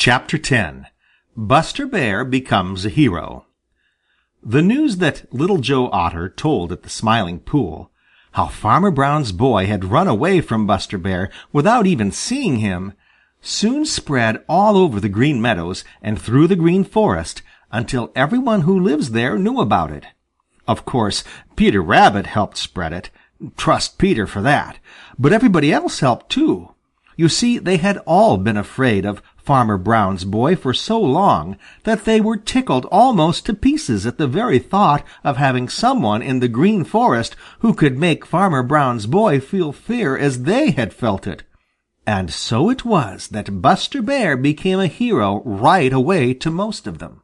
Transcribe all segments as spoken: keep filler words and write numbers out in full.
Chapter ten. Buster Bear Becomes a Hero. The news that Little Joe Otter told at the Smiling Pool, how Farmer Brown's boy had run away from Buster Bear without even seeing him, soon spread all over the Green Meadows and through the Green Forest until everyone who lives there knew about it. Of course, Peter Rabbit helped spread it. Trust Peter for that. But everybody else helped too. You see, they had all been afraid of Farmer Brown's boy for so long that they were tickled almost to pieces at the very thought of having someone in the Green Forest who could make Farmer Brown's boy feel fear as they had felt it. And so it was that Buster Bear became a hero right away to most of them.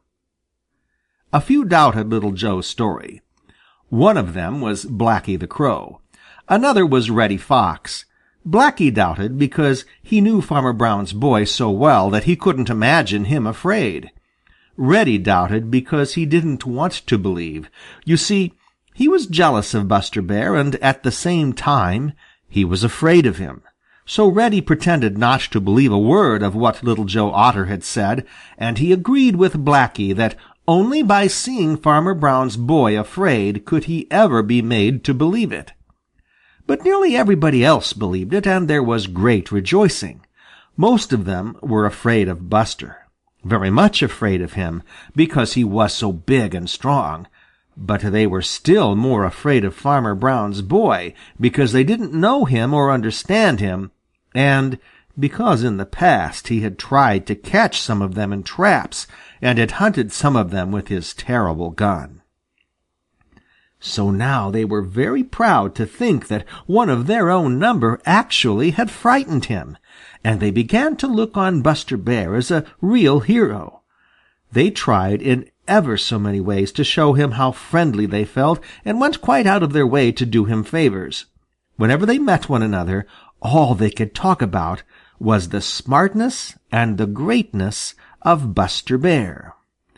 A few doubted Little Joe's story. One of them was Blacky the Crow. Another was Reddy Fox. Blacky doubted because he knew Farmer Brown's boy so well that he couldn't imagine him afraid. Reddy doubted because he didn't want to believe. You see, he was jealous of Buster Bear, and at the same time he was afraid of him. So Reddy pretended not to believe a word of what Little Joe Otter had said, and he agreed with Blacky that only by seeing Farmer Brown's boy afraid could he ever be made to believe it. But nearly everybody else believed it, and there was great rejoicing. Most of them were afraid of Buster, very much afraid of him, because he was so big and strong. But they were still more afraid of Farmer Brown's boy, because they didn't know him or understand him, and because in the past he had tried to catch some of them in traps and had hunted some of them with his terrible gun. So now they were very proud to think that one of their own number actually had frightened him, and they began to look on Buster Bear as a real hero. They tried in ever so many ways to show him how friendly they felt, and went quite out of their way to do him favors. Whenever they met one another, all they could talk about was the smartness and the greatness of Buster Bear.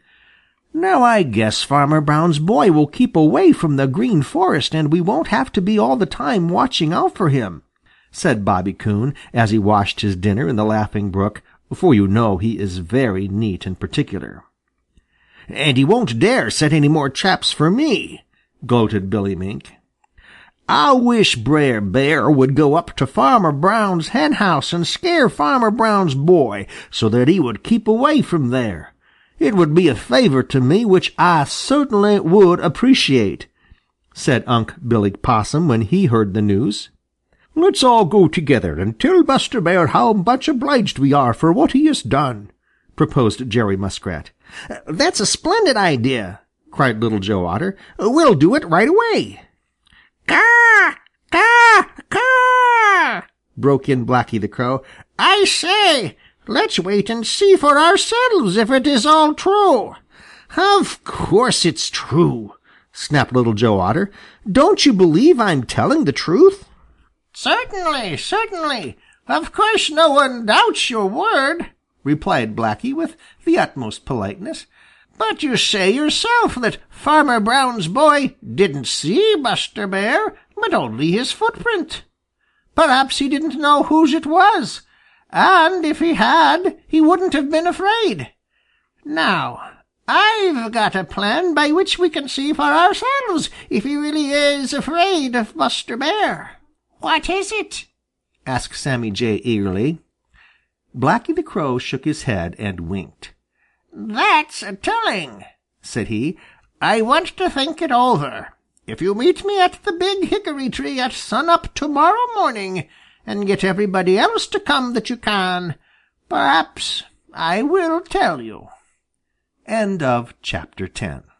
"Now I guess Farmer Brown's boy will keep away from the Green Forest, and we won't have to be all the time watching out for him," said Bobby Coon as he washed his dinner in the Laughing Brook, for you know he is very neat and particular. "And he won't dare set any more traps for me," gloated Billy Mink. "I wish Brer Bear would go up to Farmer Brown's henhouse and scare Farmer Brown's boy so that he would keep away from there. It would be a favor to me which I certainly would appreciate," said Unc' Billy Possum when he heard the news. "Let's all go together and tell Buster Bear how much obliged we are for what he has done," proposed Jerry Muskrat. "That's a splendid idea," cried Little Joe Otter. "We'll do it right away." "Caw! Caw! Caw!" broke in Blacky the Crow. "I say, let's wait and see for ourselves if it is all true." "Of course it's true," snapped Little Joe Otter. "Don't you believe I'm telling the truth?" "Certainly, certainly. Of course no one doubts your word," replied Blacky with the utmost politeness. "But you say yourself that Farmer Brown's boy didn't see Buster Bear, but only his footprint. Perhaps he didn't know whose it was. And if he had, he wouldn't have been afraid. Now, I've got a plan by which we can see for ourselves if he really is afraid of Buster Bear." "What is it?" asked Sammy Jay eagerly. Blacky the Crow shook his head and winked. "That's telling," said he. "I want to think it over. If you meet me at the big hickory tree at sun-up tomorrow morning, and get everybody else to come that you can, perhaps I will tell you." End of chapter ten.